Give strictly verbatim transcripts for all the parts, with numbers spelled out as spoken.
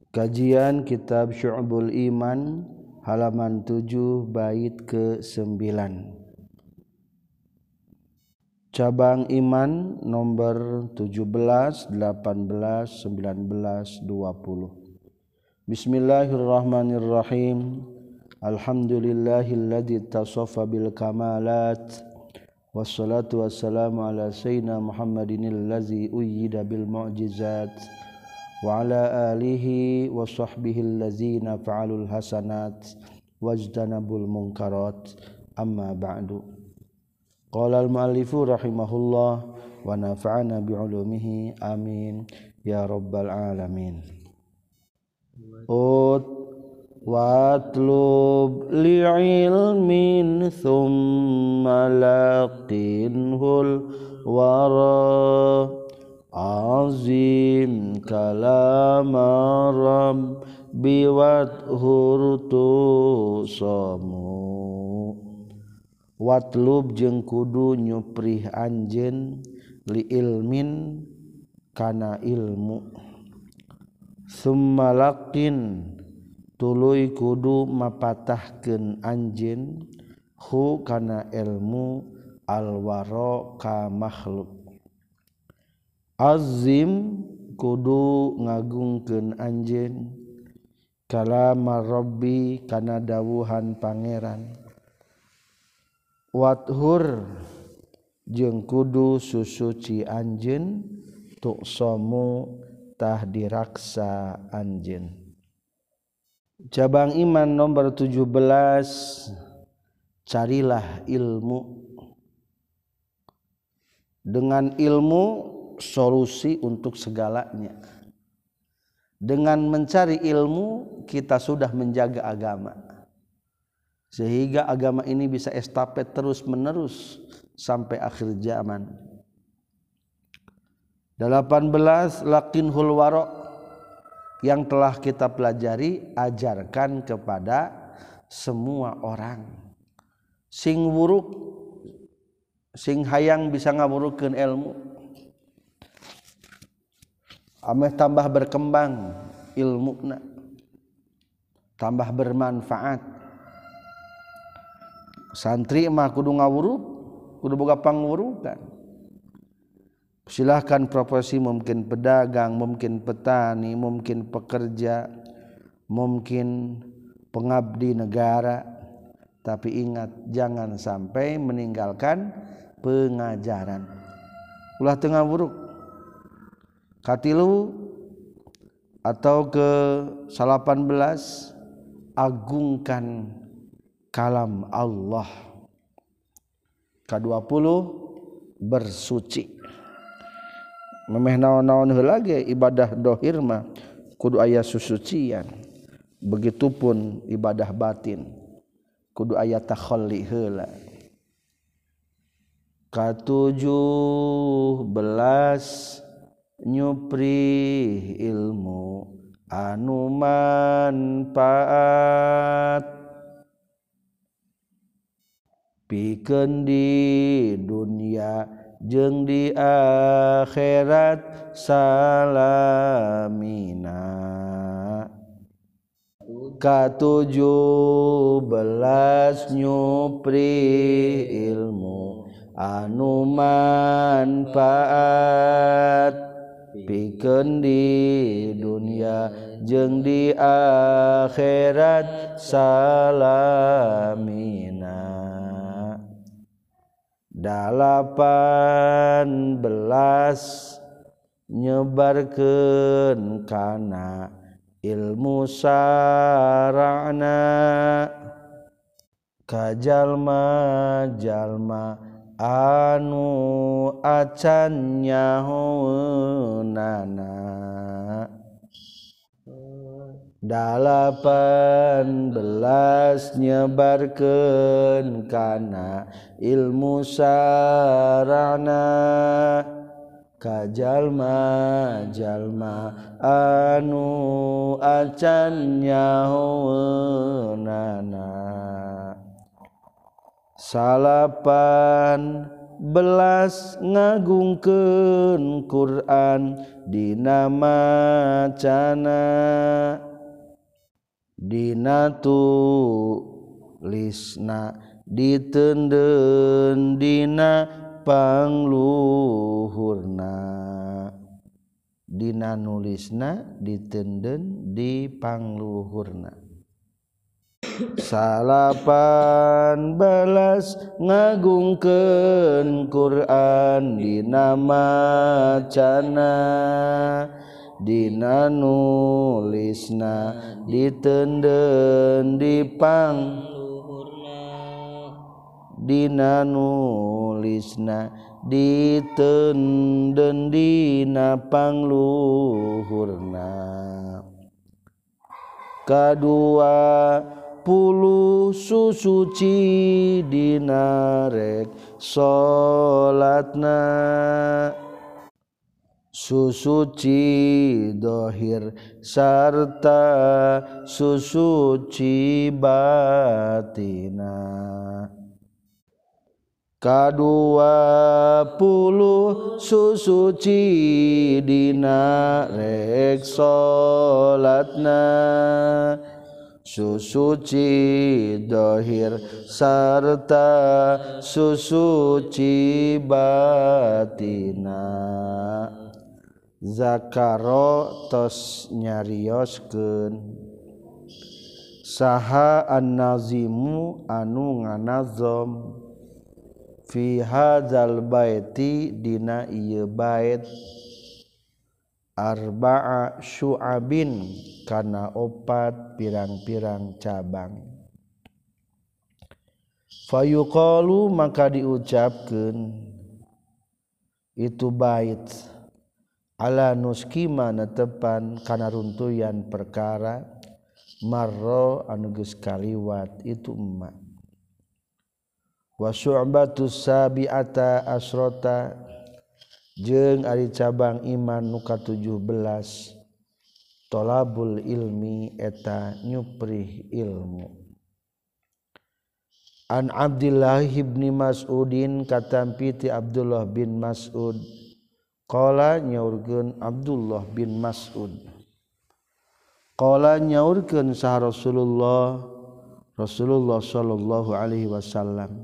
Kajian Kitab Syu'bul Iman halaman tujuh bait ke sembilan. Cabang iman nomor tujuh belas, delapan belas, sembilan belas, dua puluh. Bismillahirrahmanirrahim. Alhamdulillahilladzi tasaffa bil kamalat. Wassalatu wassalamu ala sayyidina Muhammadinil ladzi uyyida bil mu'jizat. Wa ala alihi wa sahbihi allazina fa'alul hasanat wajtanabul munkarat, amma ba'du. Qala al-muallifu rahimahullah wa nafa'ana bi'ulumihi amin ya rabbal alamin. Ut watlub li'ilmin thumma laqinhul wara azim kalamaram biwat hurtu samu. Watlub jeung kudu nyuprih anjeun li ilmin kana ilmu. Summa laqin tuluy kudu mapatahkeun anjeun hu kana ilmu alwara ka makhluk. Azim kudu ngagungkeun anjeun kalamar rabbi kana dawuhan pangeran. Wathur jeung kudu susuci anjeun tuqsamu tah diraksa anjeun. Cabang iman nomor tujuh belas, carilah ilmu. Dengan ilmu solusi untuk segalanya. Dengan mencari ilmu kita sudah menjaga agama, sehingga agama ini bisa estafet terus menerus sampai akhir zaman. Delapan belas laqinhul wara, yang telah kita pelajari ajarkan kepada semua orang. Sing wuruk, sing hayang bisa ngawurukeun ilmu, ameh tambah berkembang ilmuna, tambah bermanfaat. Santri mah kudu ngawuruk, kudu boga pangwurukan. Silahkan profesi, mungkin pedagang, mungkin petani, mungkin pekerja, mungkin pengabdi negara, tapi ingat jangan sampai meninggalkan pengajaran. Ulah teu ngawuruk. Katilu atau ke salapan belas, agungkan kalam Allah. Ka dua puluh, bersuci. Memeh naon-naon heula ge ibadah dohir mah kudu aya susucian. Begitupun ibadah batin kudu aya takhalli heula. Ka tujuh belas, nyupri ilmu anu manfaat pikeun di dunia jeung di akhirat salamina. Ka tujuh belas, nyupri ilmu anu manfaat pikeun di dunia jeung di akhirat salamina. Dalapan belas, nyebarkeun kana ilmu sarana ka jalma-jalma anu acan nyahoeunana. Dalapan belas, nyebarkeun kana ilmu sarana ka jalma-jalma anu acan nyahoeunana. Salapan belas ngagungkeun Quran dina macana dina tulisna diteudeun dina pangluhurna dina nulisna diteudeun di pangluhurna salapan belas ngagungkeun Quran dina macana dina nulisna diteudeun di pang dina nulisna diteudeun dina pangluhurna kadua puluh susuci dina rek salatna susuci dohir sarta susuci batina kadua puluh susuci dina rek salatna susuci dohir sarta susuci batina zakaro tos nyarioskeun saha an-nazimu anu nganazom fi hadzal baiti dina ieu bait arba'a syu'abin kana opat pirang-pirang cabang fayuqalu maka diucapkeun itu bait ala nuskima netepan kana runtuyan perkara marro anu geus kaliwat itu emma wa syu'batus sabi'ata asrota jeung ari cabang iman nu katujuh belas tolabul ilmi eta nyuprih ilmu an Abdullah ibni Mas'udin katampi ti Abdullah bin Mas'ud qala nyaurkeun Abdullah bin Mas'ud qala nyaurkeun saha Rasulullah Rasulullah sallallahu alaihi wasallam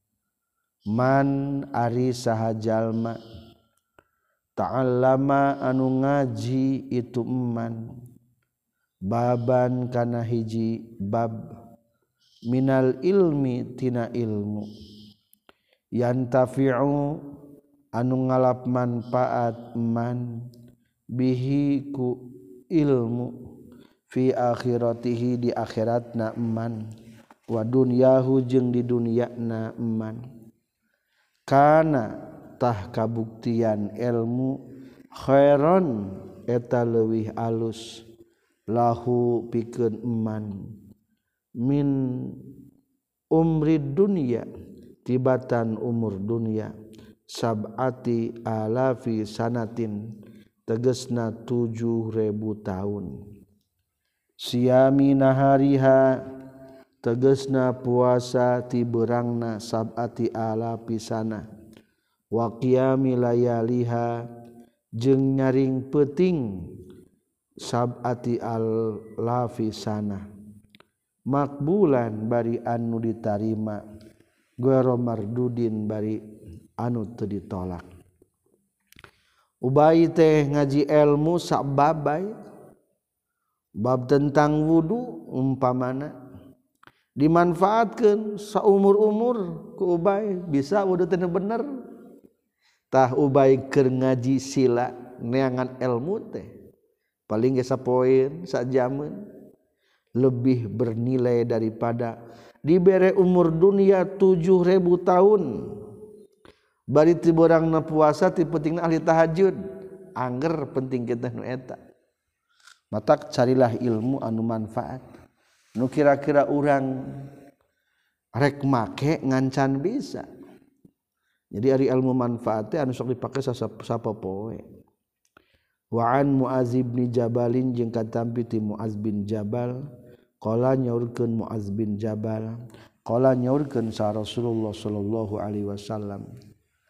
man ari saha jalma ta'allama anu ngaji itu eman baban kana hiji bab minal ilmi tina ilmu yantafi'u anu ngalap manfaat eman bihi ku ilmu fi akhiratihi di akhiratna eman wa dunyahu jeung di dunyana eman kana tah kabuktian ilmu khairon eta leuwih alus lahu pikeun eman min umri dunya tibatan umur dunya sab'ati alafi sanatin tegesna tujuh ribu tahun siami nahariha tegesna puasa ti beurangna sab'ati alafi sana wa qiyami layaliha jeung nyaring peuting sab'ati alafi sana makbulan bari anu ditarima ghairu mardudin bari anu teu ditolak Ubay teh ngaji ilmu sak babay bab tentang wudu umpamana dimanfaatkeun saumur-umur ku Ubay bisa wudu teh bener tah Ubay keur ngaji sila neangan ilmu teh paling ge sapoeun sajameun lebih bernilai daripada dibere umur dunia tujuh ribu tahun bari ti beurangna puasa ti pentingna ahli tahajud angger penting kita nu eta matak carilah ilmu anu manfaat nu kira-kira urang rek make ngancan bisa. Jadi ari ilmu manfaat teh anu sok dipake sapopoe. Wa an Muaz bin Jabalin jeung katampi ti Muaz bin Jabal qala nyaurkeun Muaz bin Jabal qala nyaurkeun sa Rasulullah sallallahu alaihi wasallam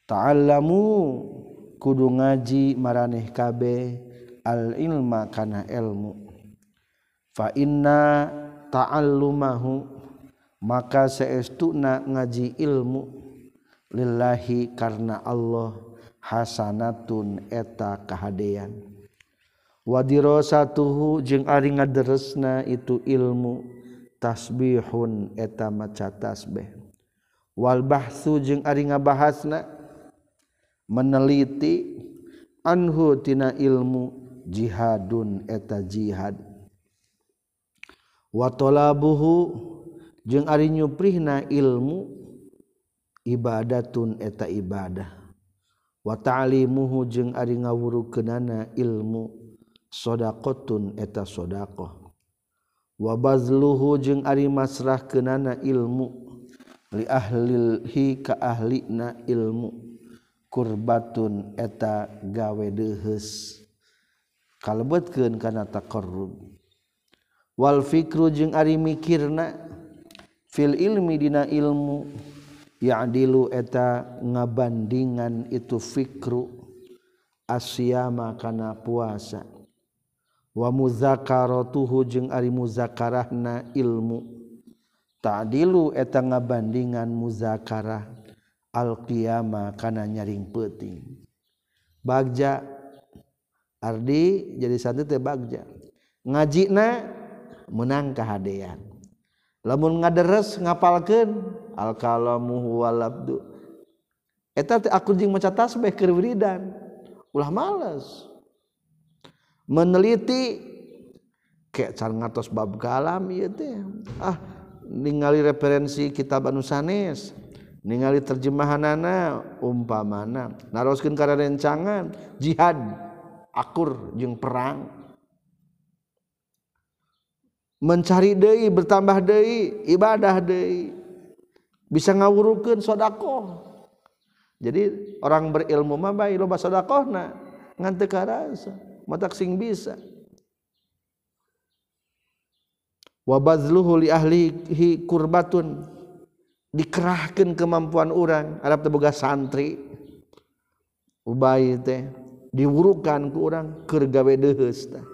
ta'allamu kudu ngaji maraneh kabeh al ilma kana ilmu fa inna ta'allumahu maka saestuna ngaji ilmu lillahi karna Allah hasanatun eta kahadean wa dirasatuhu jeung ari ngaderesna itu ilmu tasbihun eta maca tasbih wal bahtsu jeung ari ngabahasna meneliti anhu tina ilmu jihadun eta jihad wa talabuhu jeung ari nyuprihna ilmu ibadatun eta ibadah wa ta'limuhu jeung ari ngawurukeunana ilmu shadaqatun eta shadaqah wa bazluhu jeung ari masrahkeunana ilmu li ahlilhi ka ahlina ilmu kurbatun eta gawe deuheus kalebetkeun kana taqarrub wal fikru jeung ari mikirna fil ilmi dina ilmu ya'dilu eta ngabandingan itu fikru asyama kana puasa wa muzakaratuhu jeung ari muzakarahna ilmu ta'dilu eta ngabandingan muzakarah al-qiyama kana nyaring peuting bagja ardi jadi santri teh bagja ngajina menang kahadean lamun ngaderes ngapalkeun al-kalamu huwal abdu eta teh aku jeung maca tasbih keur wiridan ulah males meneliti ke can ngatos bab kalam ieu teh ah ningali referensi kitab anu sanes ningali terjemahanana umpamana naroskeun ka rencangan jihad akur jeung perang mencari deui bertambah deui ibadah deui bisa ngawurukeun sedekah jadi orang berilmu mah bae loba sedekahna ngan teu karasa matak sing bisa wa bazluhu li ahlihi kurbatun dikerahkeun kemampuan urang arep teu boga santri ubay teh diwurukan ku urang keur gawe deuheus teh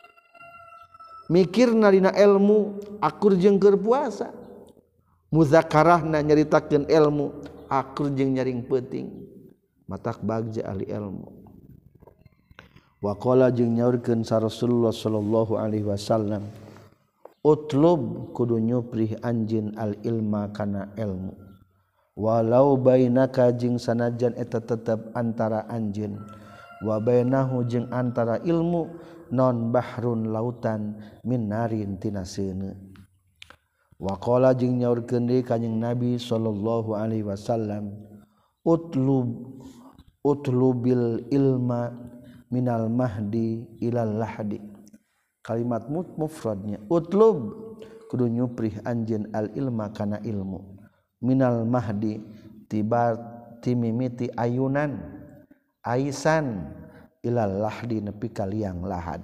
mikirna dina ilmu akur jeung keur puasa muzakarahna nyaritakeun ilmu akur jeung nyaring peuting matak bagja ahli ilmu wa qala jeung nyaurkeun sa Rasulullah sallallahu alaihi wasallam utlub kudu nyuprih anjeun al ilma kana ilmu walau bainaka jeung sanajan eta tetep antara anjeun wa bainahu jeung antara ilmu non bahrun lautan min narin tina seuneu wa qala jeung nyaurkeun deui kanjing Nabi sallallahu alaihi wasallam utlub utlubil ilma minal mahdi ilal lahdi kalimat mufradnya utlub kudu nyuprih anjeun al ilma kana ilmu minal mahdi tiba timimiti ayunan aisan ilal lahdi nepi ka liang lahad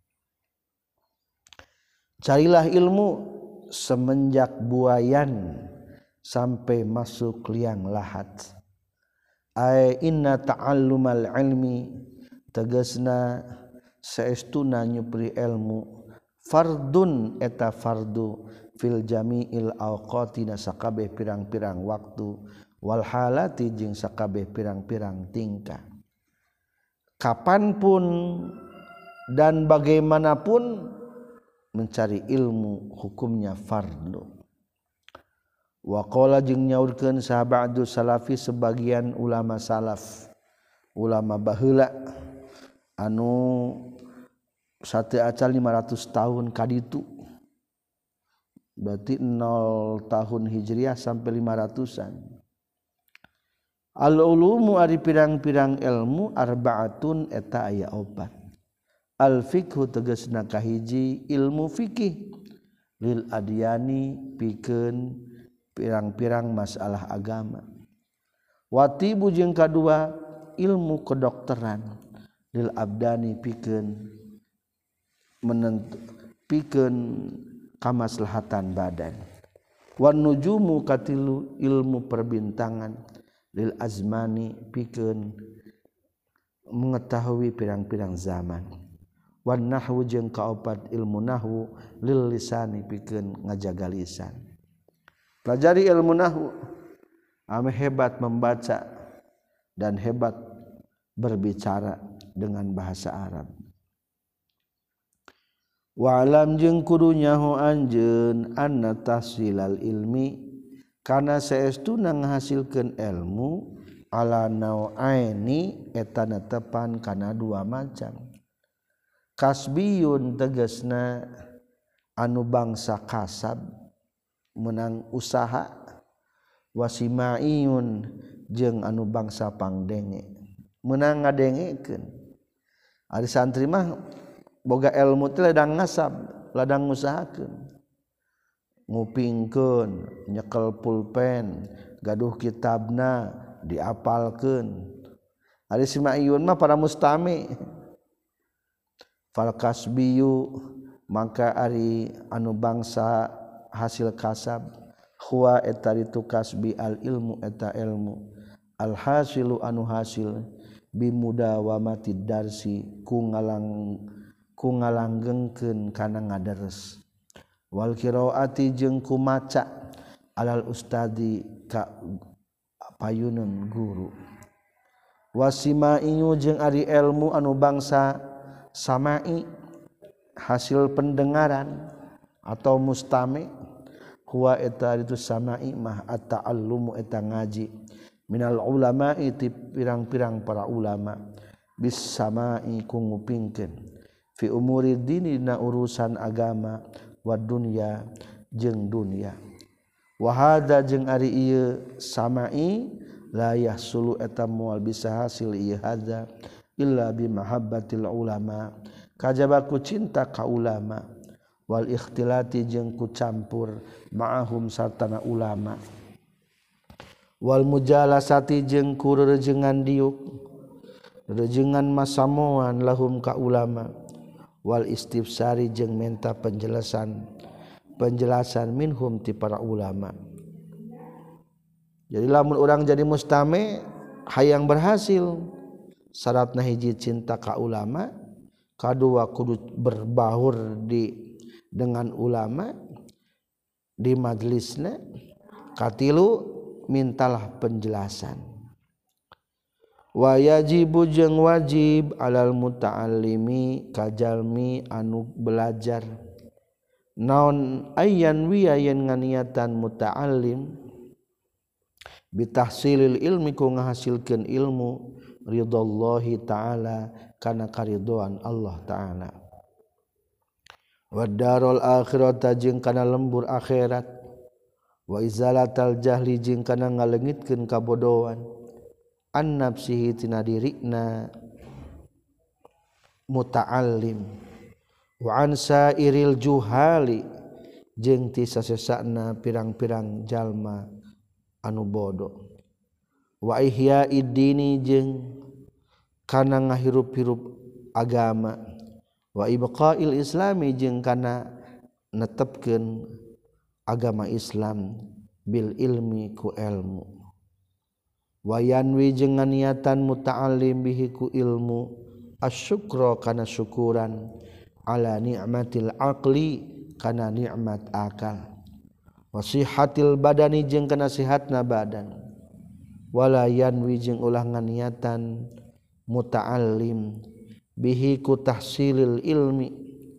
carilah ilmu semenjak buayan sampai masuk liang lahat ay inna ta'allumal ilmi tegasna saestuna nyupri ilmu fardun eta fardu fil jami'il awqati sakabeh pirang-pirang waktu wal halati jeung sakabeh pirang-pirang tingkah kapanpun dan bagaimanapun mencari ilmu hukumnya fardu wa qala jeung nyaurkeun sahabatu salafi sebagian ulama salaf ulama baheula anu sateu acal lima ratus tahun kaditu berarti nol tahun hijriah sampai lima ratusan al ulumu ari pirang-pirang ilmu arbaatun eta aya opat al fiqhu tegasna kahiji ilmu fikih lil adyani pikeun pirang-pirang masalah agama watibu jeung kadua ilmu kedokteran lil abdani pikeun menentu pikeun kamaslahatan badan wan nujumu katilu ilmu perbintangan lil azmani pikeun mengetahui pirang-pirang zaman wan nahwu jeung kaopat ilmu nahwu lil lisani pikeun ngajaga lisan. Pelajari ilmu nahwu ame hebat membaca dan hebat berbicara dengan bahasa Arab. Wa alam jeung kudu nyaho anjeun anna tahsilal ilmi kana saestuna ngahasilkeun ilmu ala nau'aini eta netepan kana dua macam. Kasbiyun tegasna anu bangsa kasab menang usaha, wasimaiyun jeung anu bangsa pangdenge menang ngadengekeun. Ari santri mah boga ilmu teh ladang ngasab, ladang ngusahakeun, ngupingkeun, nyekel pulpen, gaduh kitabna diapalkeun. Ari simaiyun mah para mustami. Fal kasbiyu maka ari anu bangsa hasil kasab huwa eta itu kasbi al ilmu eta ilmu al hasilu anu hasil bimudawamati darsi ku ngalang ku ngalanggengkeun kana ngadares wal qiraati jeung ku maca alal ustadi ka payuneun guru wasimaiyu jeung ari ilmu anu bangsa samai hasil pendengaran atau mustami huwa eta itu samai mah at-ta'allumu eta ngaji minal ulama'i ti pirang-pirang para ulama bis samai ku ngupingkeun fi umuri dini na urusan agama wa dunya jeung dunya wa hada jeung ari ieu samai la yahsulu eta moal bisa hasil ieu hada illa bi mahabbatil ulama kajaba ku cinta ka ulama wal ikhtilati jeung ku campur ma'ahum sartana ulama wal mujalasati jeung ku rerengan diuk rerengan masamoan lahum ka ulama wal istifsari jeung menta penjelasan penjelasan minhum ti para ulama. Jadi lamun urang jadi mustami hayang berhasil syaratna hiji cinta ka ulama, kadua kudu berbaur di dengan ulama di majlisna, katilu mintalah penjelasan. Wa yajibu jeung wajib alal muta'allimi kajalmi anu belajar naon ayyan wi ayen nganiatan muta'allim bitahsilil ilmi ku ngahasilkeun ilmu ridallahi ta'ala kana karidoan Allah ta'ala wa darul akhirata jeung kana lembur akhirat wa izalatal jahli jeung kana ngaleungitkeun kabodohan an nafsihi tina dirina muta'allim wa an sairil juhali jeung ti sasesana pirang-pirang jalma anu bodoh wa ihyaid dini jeung kana ngahirup-hirup agama wa ibqail islami jeung kana netepkeun agama Islam bil ilmi ku ilmu wa yanwi jeung niatan muta'allim bihi ku ilmu asyukra kana syukuran ala ni'matil aqli kana nikmat akal wasihatil badani jeung kana sihatna badan wala yanwi jeung ulah nganiatan muta'allim bihi ku tahsilil ilmi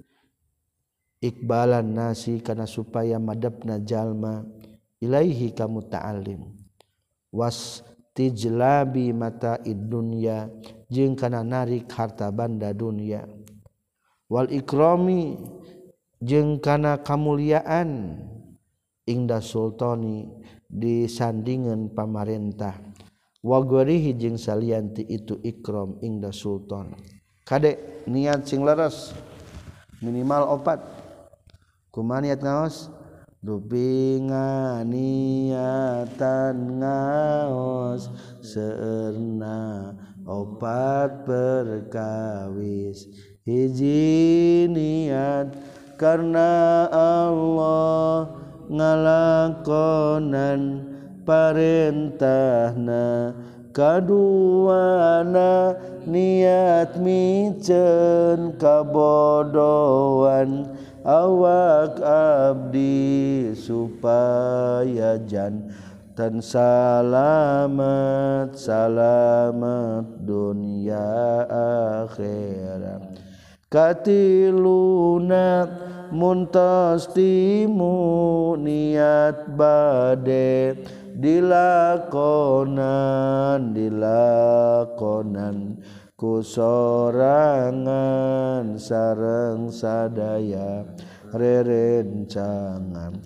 ikbalan nasi kana supaya madepna jalma ilaihi ka muta'allim was tijlabi mata'id dunya jeung kana narik harta banda dunya wal ikrami jeung kana kamuliaan ingda sultani disandingan pamarentah wa gorihi jeung salianti itu ikram ingda sultan kade niat sing leres minimal opat kumaha niat ngaos dupi nganiatan ngaos seurna opat perkawis hiji niat karena Allah ngalakonan parentahna kaduana niat micen kabodohan awak abdi supaya jantan salamet salamet dunia akhirat katiluna muntas timu niat bade dilakonan dilakonan ku sorangan sareng sadaya rerencangan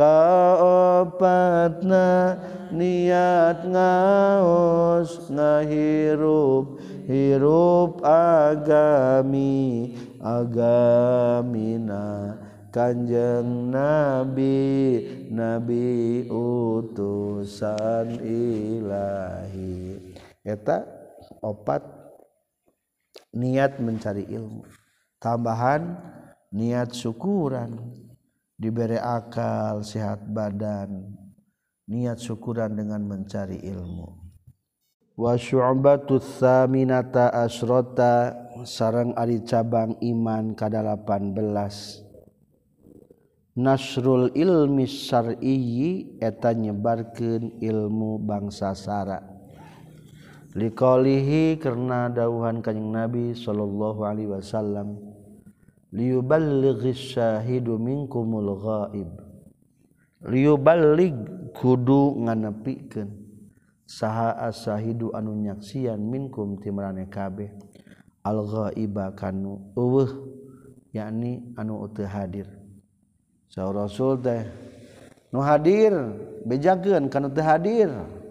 kaopatna niat ngaos ngahirup hirup agami agamina Kanjeng Nabi Nabi utusan ilahi eta opat niat mencari ilmu tambahan niat syukuran diberi akal sehat badan niat syukuran dengan mencari ilmu wa syu'batus saminata asrota sareng ari cabang iman kadalapan belas nasrul ilmi syar'iyyi eta nyebarkeun ilmu bangsa sara liqaulihi karena dawuhan kanjing Nabi sallallahu alaihi wasallam liyuballighis syahidu minkumul ghaib liyuballigh kudu nganepikeun saha as-syahidu anu nyaksian minkum ti marane kabeh al ghaiba kanu eueuh yakni anu teu hadir saur rasul teh nu hadir bejakeun kanu teu hadir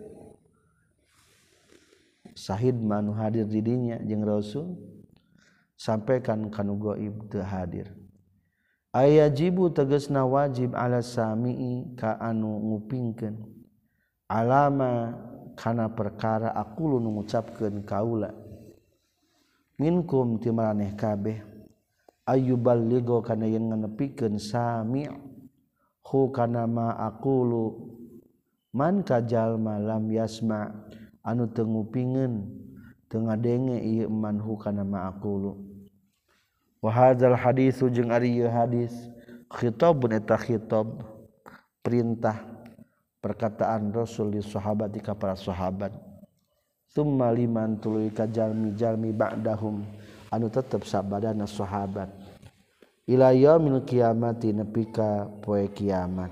syahid mah nu hadir di dinya jeung rasul sampaikan kanu gaib teu hadir ayajibu tegasna wajib ala sami'i ka anu ngupingkeun alama kana perkara aqulu nu ngucapkeun kaula minkum ti maraneh kabeh ayyuballigho kana yen nganepikeun sami' hu kana ma aqulu man ka jalma lam yasma anu teu ngupingeun teu ngadenge ieu man hu kana ma aqulu wa hadzal haditsu jeung ari ieu hadis khitabun eta khitab perintah perkataan Rasul li sahabati ka para sahabat summa liman tuluy ka jalmi-jalmi ba'dahum anu tetep sabadana sahabat ila yaumil qiyamati nepi ka poe kiamat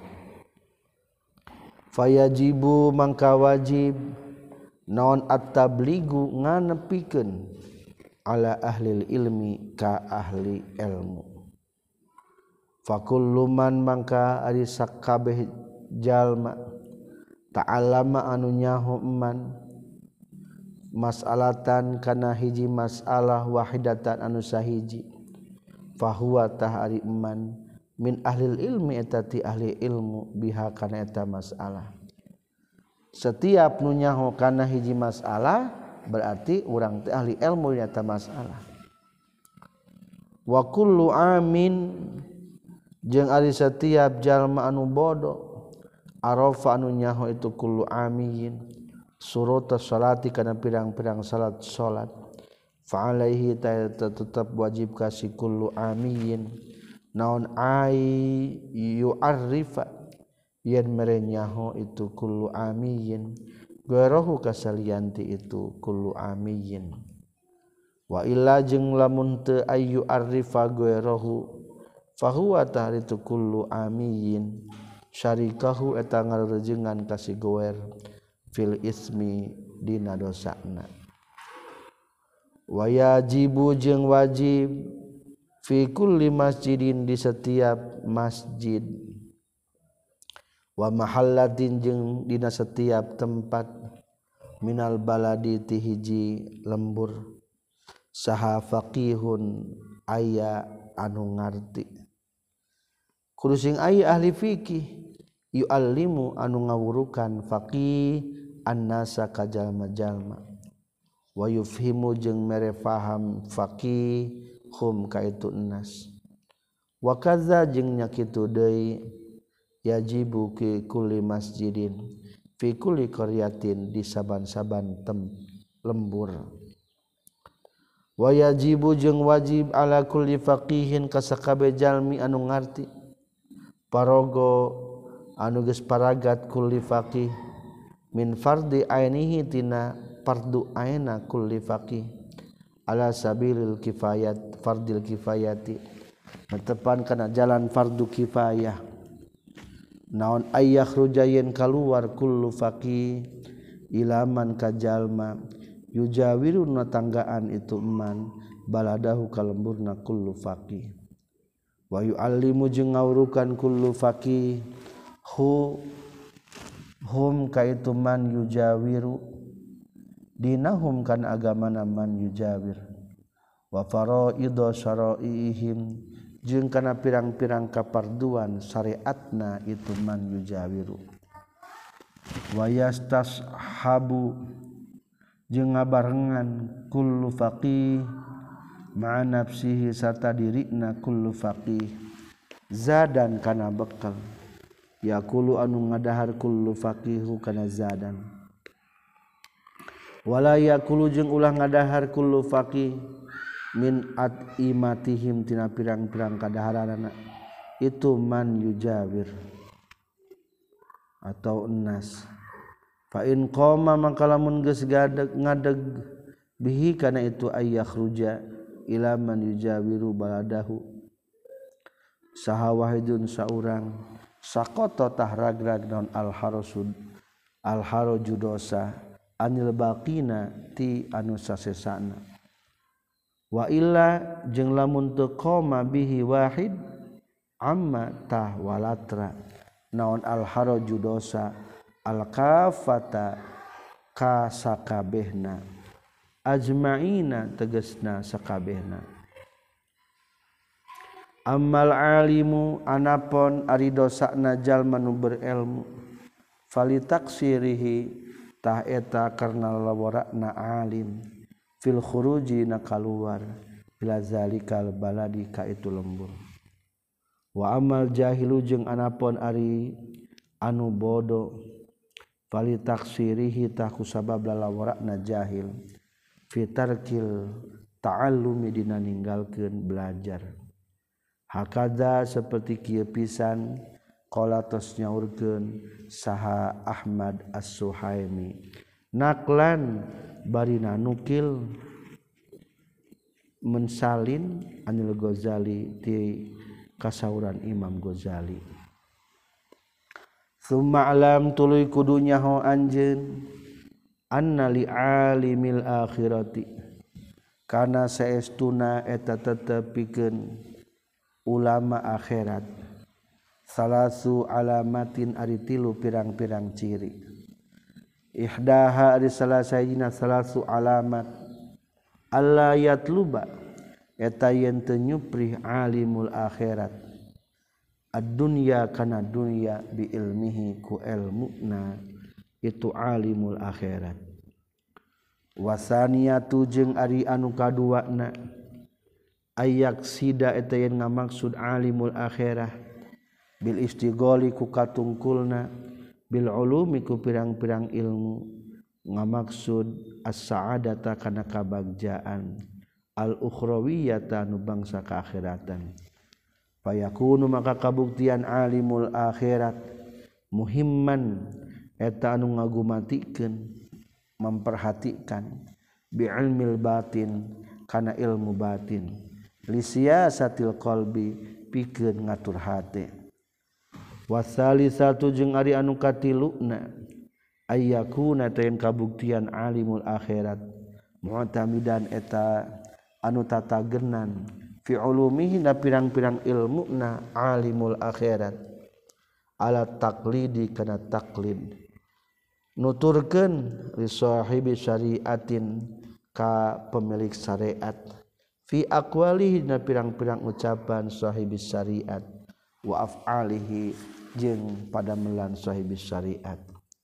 fayajibu mangka wajib naon at-tabligu nganepikeun ala ahli ilmi ka ahli ilmu fakullu man mangka ari sakabeh jalma ta'allama anu nyaho man mas'alatan kana hiji masalah wahidatan anu sahiji fahuwa tahari man min ahli ilmi eta ti ahli ilmu biha kana eta masalah setiap nu nyaho kana hiji masalah berarti urang teh ahli ilmu nya eta masalah wa kullu amin jeung ari setiap jalma anu bodoh arafa anu nyaho itu kullu amiyin surata salati kana pirang-pirang salat salat fa alaihi ta tetep wajib ka si kullu amiyin naon ai yu'arrifa yen mere nyaho itu kullu amiyin gairahu kasalianti itu kullu amiyin wa illa jeung lamun teu ayu arrifa gairahu fahuwa tahritu kullu amiyin syarikahu eta ngarejengan kasih goer fil ismi dina dosana wayajibu jeung wajib fi kulli masjidin di setiap masjid wa mahallatin jeung dina setiap tempat minal baladi ti hiji lembur saha faqihun aya anu ngarti kudu sing aya ahli fikih yu'allimu anu ngawurukan faqih annasa ka jalma-jalma wa yufhimu jeung mere faham faqih hum ka itu nas wa kadza jeung nya kitu deui yajibu ki kulli masjidin fi kulli qaryatin di saban-saban tem lembur. Wa yajibu jeung wajib ala kulli faqihin ka sakabeh jalmi anu ngarti paraga anu geus paragat kulli faqih min fardhi ainihi tina fardu aina kulli faqih ala sabilil kifayat fardil kifayati netepan kana jalan fardu kifayah naon ayyah rujayen kaluar kullu faqih ilaman kajalma yujawiru natanggaan itu eman baladahu kalemburna kullu faqih wa yu'allimu jeung ngawurukan kullu faqih hu hum kaitu man yujawiru dinahum kan agamana man yujawir wa faraidho syara'ihim jeung kana pirang-pirang kaparduan syariatna itu man yujawiru wa yastashabu jeung ngabarengan kullu faqih ma'a nafsihi sarta dirina kullu faqih zadan kana bekal yaqulu anu ngadahar kullu faqihu kana zadan wala yaqulu jeung ulah ngadahar kullu faqih min at'imatihim tina pirang-pirang kadaharanna itu man yujawir atau enas fa in qama maka lamun geus ngadeg bihi kana itu ayyah ruja ila man yujawiru baladahu saha wahidun saurang sakoto tahragrag non al harusud al haraju dosa anil baqina ti anu sasesana wa illa jeung lamun teu qoma bihi wahid amma tah walatra naon al haraju dosa al kafata ka sakabehna ajmaina tegasna sakabehna ammal alimu anapon ari dosana jalma nu berilmu falitaksirihi tah eta karna lawarana alim fil khuruji na kaluar ila zalikal baladi ka itu lembur wa amal jahilu jeung anapon ari anu bodo falitaksirihi tah kusabab lawarana jahil fitarkil ta'allumi dina ninggalkeun belajar hakada seperti kieu pisan qala tos nyaurkeun saha Ahmad As-Suhaimi naklan barina nukil mensalin anil Ghazali ti kasauran Imam Ghazali summa alam tuluy kudu nyaho anjeun anna li alimil akhirati kana saestuna eta tetepikeun ulama akhirat salasu alamatin ari tilu pirang-pirang ciri ihdaha ari salasajina salasu alamat alla yatluba eta yen teu nyuprih alimul akhirat ad-dunya kana dunya bi ilmihi ku ilmuna itu alimul akhirat wasaniyatu jeung ari anu kaduana ayak sida eta yen ngamaksud alimul akhirah bil istighali ku katungkulna bil ulumi ku pirang-pirang ilmu ngamaksud as-sa'adata kana kabagjaan al ukhrawiyata nu bangsa kaakhiratan fayakunu maka kabuktian alimul akhirat muhimman eta anu ngagumatikeun memperhatikan bi ilmil batin kana ilmu batin li siyasatil qalbi pikeun ngatur hate wasalisatu jeung ari anu katiluna ayyakuna tayen kabuktian alimul akhirat mu'tamidan eta anu tatagenan fi ulumihi na pirang-pirang ilmuna alimul akhirat ala taqlidi kana taqlid nuturkeun li sahibi syariatin ka pemilik syariat fi aqwalihi na pirang-pirang ucapan sahibis syariat wa af'alihi jeung pada melan sahibis syariat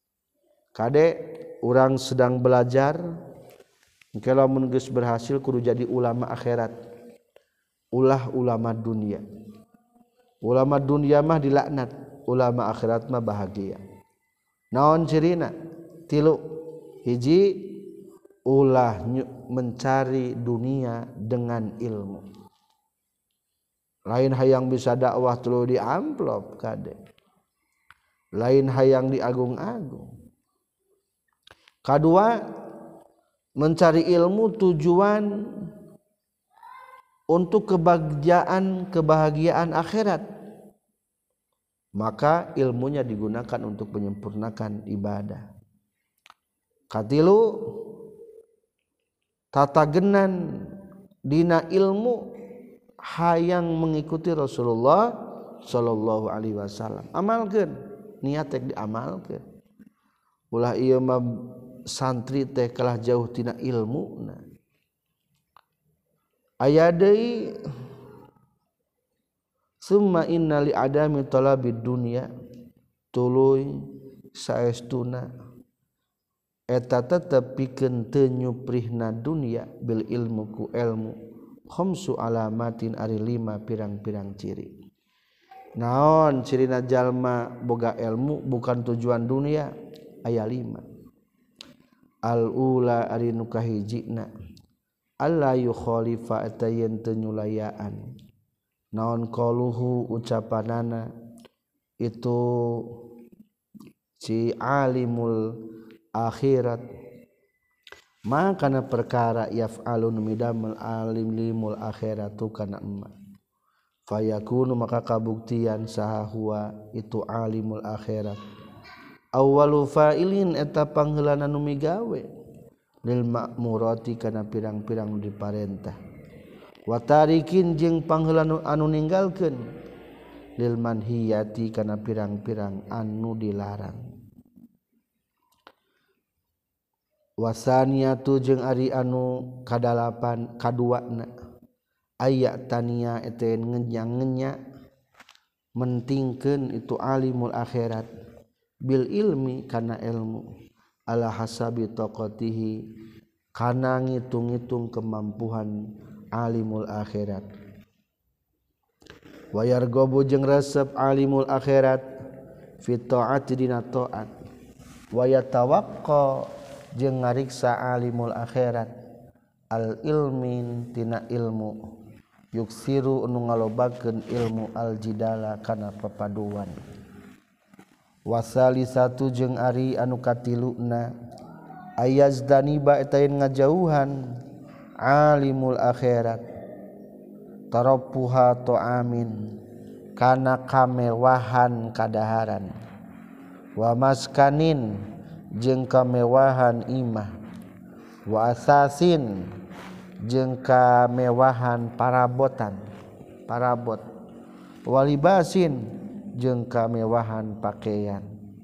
kade urang sedang belajar engke lamun geus berhasil kudu jadi ulama akhirat ulah ulama dunia ulama dunia mah dilaknat ulama akhirat mah bahagia naon cirina tilu hiji ulah mencari dunia dengan ilmu lain hayang bisa dakwah tuluy di amplop kade lain hayang diagung-agung kadua mencari ilmu tujuan untuk kebahagiaan kebahagiaan akhirat maka ilmunya digunakan untuk menyempurnakan ibadah katilu tatagenan dina ilmu hayang mengikuti Rasulullah sallallahu alaihi wasallam amalkeun niat teh diamalkeun ulah ieu mah santri teh kalah jauh tina ilmuna aya deui summa inna li adami talabid dunya tuluy saestuna eta tetep pikeun teu nyuprihna dunya bil ilmu ku ilmu khamsu alamatin ari lima pirang-pirang ciri naon cirina jalma boga ilmu bukan tujuan dunia aya lima al ula ari nu kahijina alla yukhalifa eta yen teu nyulayaan naon qaluhu ucapanana itu si alimul akhirat makana perkara yaf'alun midamul alim limul akhiratu kana emma fayakunu maka kabuktian saha huwa itu alimul akhirat awwalu fa'ilin eta pangheulana nu migawe lil ma'murati kana pirang-pirang nu diparentah wa tarikin jeung pangheulana anu ninggalkeun lil manhiyati kana pirang-pirang anu dilarang wasaniyatu jeung ari anu kadalapan kaduana aya tania eta ngenya-ngenya mentingkeun itu alimul akhirat bil ilmi kana ilmu ala hasabi taqatihi kana ngitung-ngitung kemampuan alimul akhirat wa yarghabu jeung resep alimul akhirat fi taati dina taat wa yatawaqqa jeung ngariksa alimul akhirat al ilmin tina ilmu yuksiru anu ngalobakeun ilmu al jidala kana papaduan wasali satu jeung ari anu katiluna ayazdani ba eta yen ngajauhan alimul akhirat tarapuha ta'amin kana kamewahan kadaharan wa maskanin jeung kamewahan imah wa asasin jeung kamewahan parabotan parabot walibasin jeung kamewahan pakaian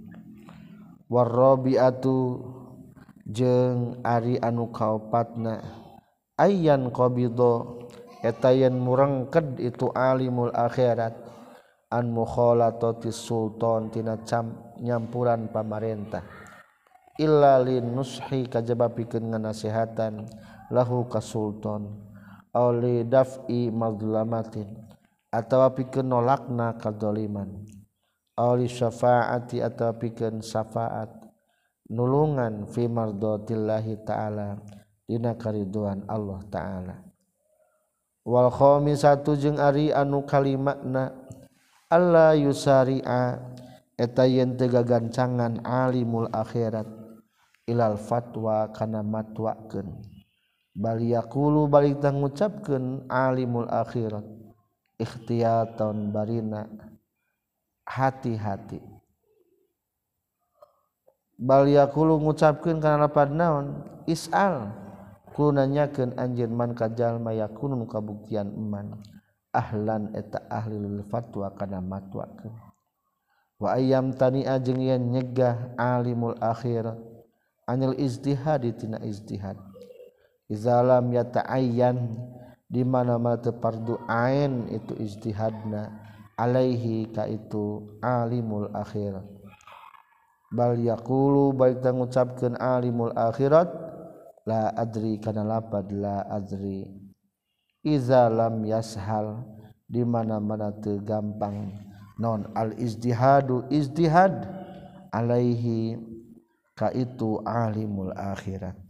warabiatu jeung ari anu kaopatna ayyan qabidho eta yen murengked itu alimul akhirat an mukhalatati sultan tina nyampuran pamarentah illa lin nushi kajaba pikeun nganasehatan lahu ka sultan aw li daf'i madlamatin atawa pikeun nolakna kadzaliman aw li syafaati atawa pikeun syafaat nulungan fi mardatillahi ta'ala dina kariduan Allah ta'ala wal khamisatu jeung ari anu kalimatna alla yusari'a eta yen teu gagancangan alimul akhirat ilal fatwa kana matwakeun bal yaqulu balik tang ngucapkeun alimul akhirat ikhtiyatan barina hati-hati bal yaqulu ngucapkeun kana lapad naon is'al kudu nanyakeun anjeun man ka jalma yakunun kabuktian eman ahlan eta ahli lil fatwa kana matwakeun wa ayyam tani'a jeung yen nyegah alimul akhirat anil ijtihad tina ijtihad iza lam yata'ayyan di mana-mana teu fardu ain itu ijtihadna alaihi ka itu alimul akhirat bal yaqulu baik tang ngucapkeun alimul akhirat la adri kana lapad la adri iza lam yashal di mana-mana teu gampang non al ijtihadu ijtihad alaihi ka itu alimul akhirat